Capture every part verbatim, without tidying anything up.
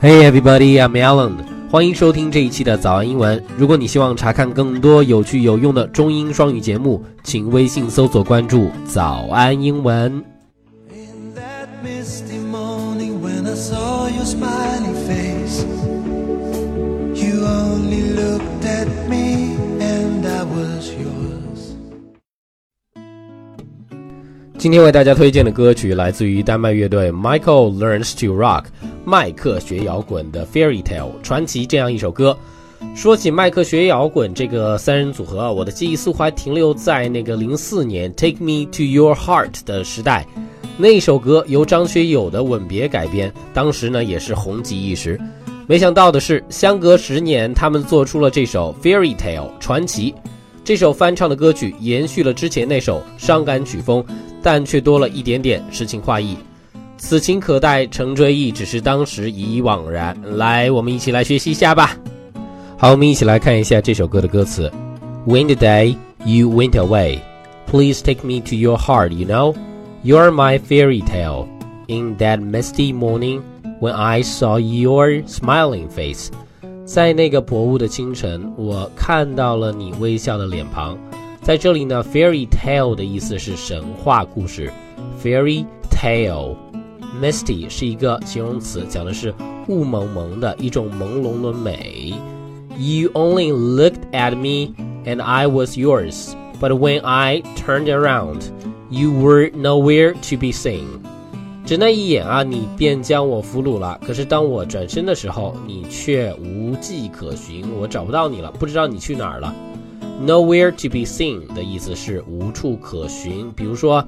Hey everybody, I'm Alan. 欢迎收听这一期的早安英文。如果你希望查看更多有趣有用的中英双语节目，请微信搜索关注早安英文。In that misty morning when I saw your smiling face, you only looked at me and I was yours. 今天为大家推荐的歌曲来自于丹麦乐队 Michael Learns to Rock 麦克学摇滚的 Fairy Tale 传奇这样一首歌。说起麦克学摇滚这个三人组合，我的记忆似乎还停留在那个零四年 Take Me to Your Heart 的时代。那首歌由张学友的吻别改编，当时呢也是红极一时。没想到的是，相隔十年他们做出了这首 Fairy Tale 传奇。这首翻唱的歌曲延续了之前那首伤感曲风，但却多了一点点诗情画意。此情可待成追忆，只是当时已惘然。来，我们一起来学习一下吧。好，我们一起来看一下这首歌的歌词。 When the day you went away, please take me to your heart, you know. You're my fairy tale. In that misty morning, when I saw your smiling face. 在那个薄雾的清晨，我看到了你微笑的脸庞。在这里呢 fairy tale 的意思是神话故事。 Fairy tale Misty 是一个形容词，讲的是雾蒙蒙的一种朦胧的美。 You only looked at me and I was yours, but when I turned around, you were nowhere to be seen. 只那一眼啊，你便将我俘虏了，可是当我转身的时候，你却无迹可寻，我找不到你了，不知道你去哪儿了。 Nowhere to be seen 的意思是无处可寻，比如说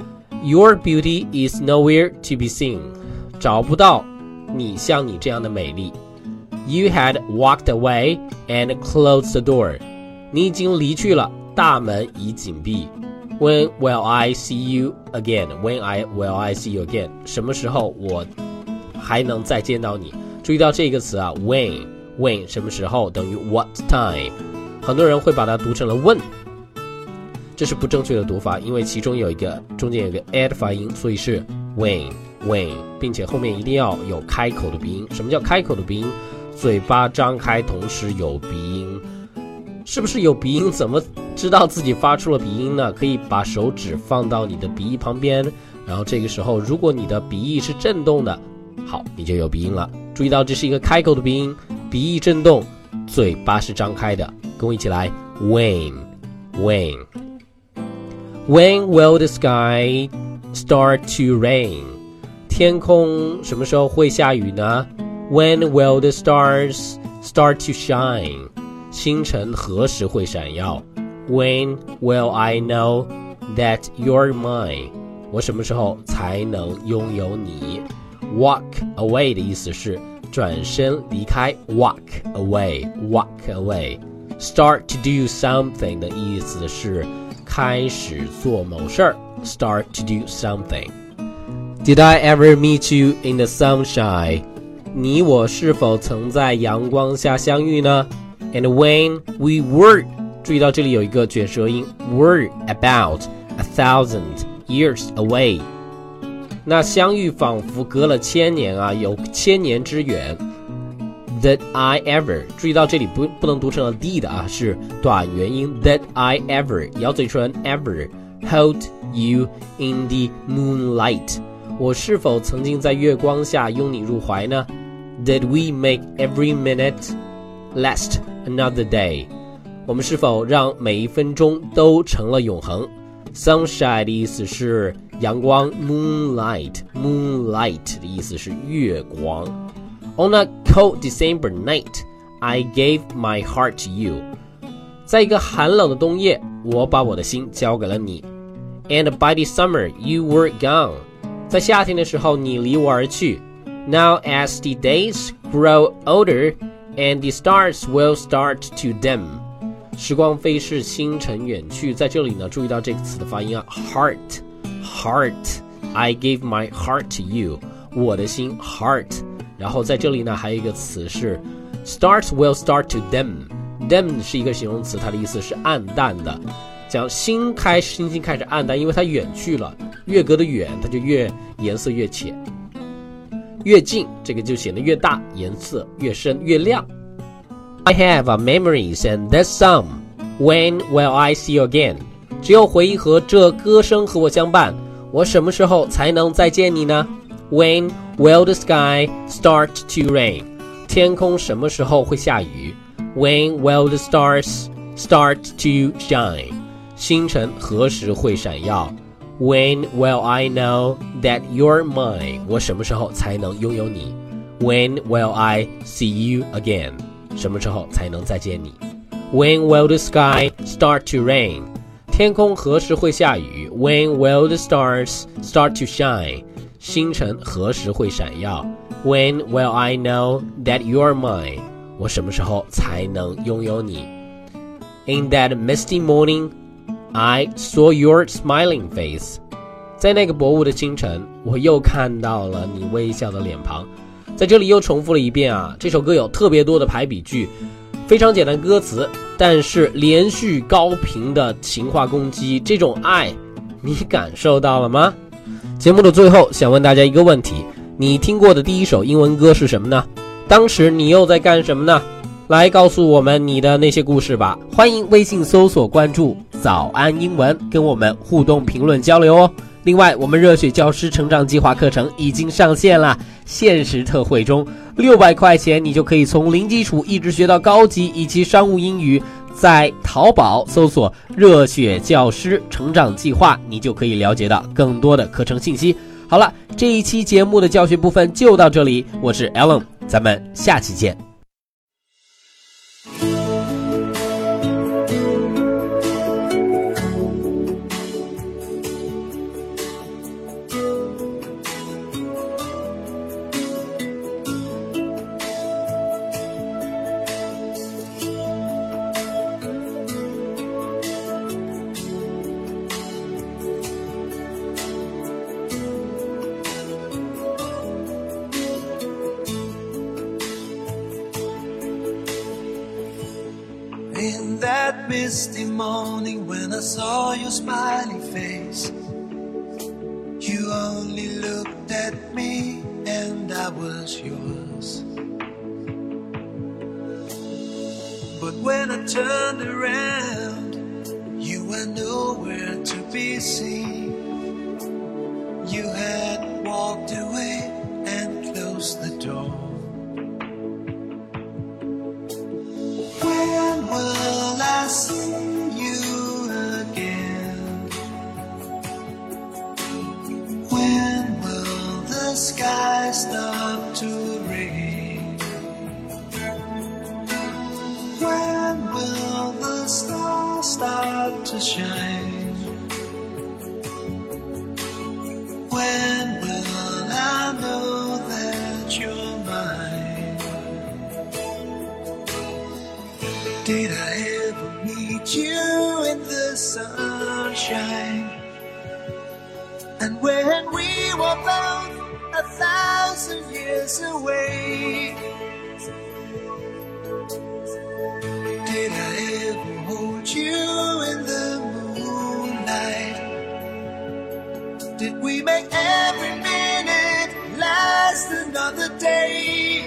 Your beauty is nowhere to be seen. 找不到你像你这样的美丽。 You had walked away and closed the door. 你已经离去了，大门已紧闭。 When will I see you again? When I will I see you again? 什么时候我还能再见到你？注意到这个词啊 when when 什么时候等于 what time。 很多人会把它读成了问，这是不正确的读法，因为其中有一个中间有一个 a 的发音，所以是 when when， 并且后面一定要有开口的鼻音。什么叫开口的鼻音？嘴巴张开同时有鼻音。是不是有鼻音？怎么知道自己发出了鼻音呢？可以把手指放到你的鼻翼旁边，然后这个时候如果你的鼻翼是震动的，好，你就有鼻音了。注意到这是一个开口的鼻音，鼻翼震动，嘴巴是张开的。跟我一起来 when when When will the sky start to rain? 天空什么时候会下雨呢？ When will the stars start to shine? 星辰何时会闪耀？ When will I know that you're mine? 我什么时候才能拥有你？ Walk away 的意思是转身离开， Walk away, walk away. Start to do something 的意思是开始做某事儿 Start to do something. Did I ever meet you in the sunshine? 你我是否曾在阳光下相遇呢？ And when we were 注意到这里有一个卷舌音 were about a thousand years away. 那相遇仿佛隔了千年啊，有千年之远。That I ever 注意到这里 不, 不能读成了 did 啊，是短元音 That I ever 咬嘴唇 ever hold you in the moonlight. 我是否曾经在月光下拥你入怀呢？ Did we make every minute last another day? 我们是否让每一分钟都成了永恒？ Sunshine 的意思是阳光， Moonlight Moonlight 的意思是月光。On a cold December night, I gave my heart to you. 在一个寒冷的冬夜，我把我的心交给了你。And by the summer, you were gone. 在夏天的时候，你离我而去。Now as the days grow older, and the stars will start to dim. 时光飞逝，星辰远去。在这里呢，注意到这个词的发音啊 ，heart, heart. I gave my heart to you. 我的心 heart。然后在这里呢还有一个词是 stars will start to dim. Dim 是一个形容词，它的意思是暗淡的，讲星开星星开始暗淡，因为它远去了，越隔得远它就越颜色越浅。 越近这个就显得越大，颜色越深越亮。I have a memories and that song. When will I see you again? 只有回忆和这歌声和我相伴，我什么时候才能再见你呢？ When will the sky start to rain? 天空什么时候会下雨？ When will the stars start to shine? 星辰何时会闪耀？ When will I know that you're mine? 我什么时候才能拥有你？ When will I see you again? 什么时候才能再见你？ When will the sky start to rain? 天空何时会下雨？ When will the stars start to shine? 星辰何时会闪耀？ When will I know that you're mine? 我什么时候才能拥有你？ In that misty morning, I saw your smiling face. 在那个薄雾的清晨，我又看到了你微笑的脸庞。在这里又重复了一遍啊，这首歌有特别多的排比句，非常简单歌词，但是连续高频的情话攻击，这种爱你感受到了吗？节目的最后想问大家一个问题，你听过的第一首英文歌是什么呢？当时你又在干什么呢？来告诉我们你的那些故事吧。欢迎微信搜索关注早安英文，跟我们互动评论交流哦。另外，我们热血教师成长计划课程已经上线了，限时特惠中，六百块钱你就可以从零基础一直学到高级以及商务英语。在淘宝搜索热血教师成长计划，你就可以了解到更多的课程信息。好了，这一期节目的教学部分就到这里，我是 Alan， 咱们下期见。 In that misty morning when I saw your smiling face, you only looked at me and I was yours. But when I turned around, you were nowhere to be seen. You had walked away and closed the door. When will I see you again? When will the sky stop to rain? When will the stars start to shine? When will I know that you're mine? Did I ever meet you in the sunshine? And when we were both a thousand years away, did I ever hold you in the moonlight? Did we make every minute last another day?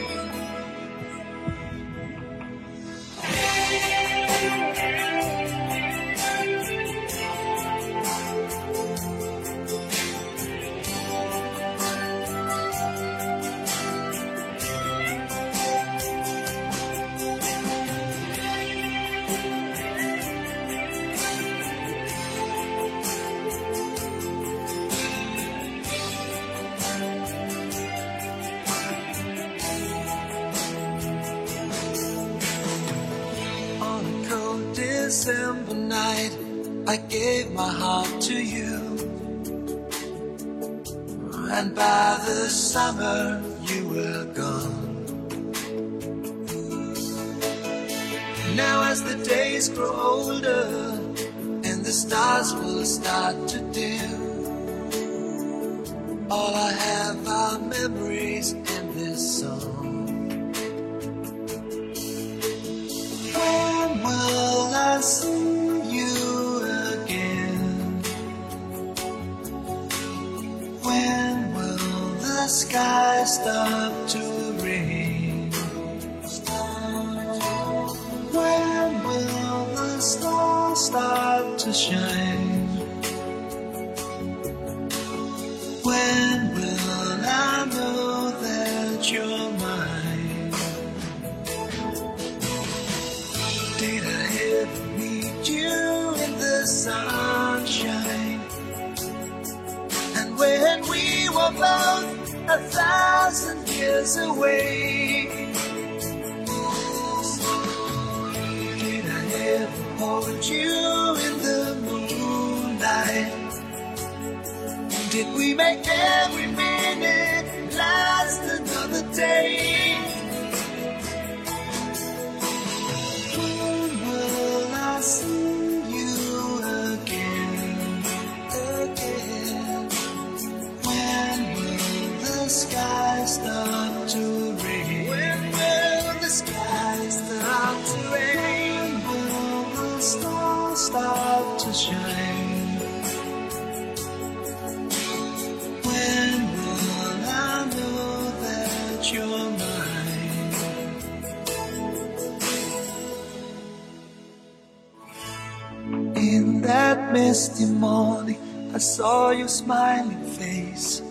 December night, I gave my heart to you, and by the summer you were gone. Now as the days grow older and the stars will start to dim, all I have are memories in this song. When will I see you again? When will the sky start stop to rain? When will the stars start to shine? When will I know that you're mine? Did I ever meet you in the sunshine? And when we were both a thousand years away, did I ever hold you in the moonlight? Did we make every minute last another day? When will I see you again, again? When will the sky start to rain? When will the sky start to rain? When will the stars start to shine? When will I know that you're mine? In that misty morning, I saw your smiling face.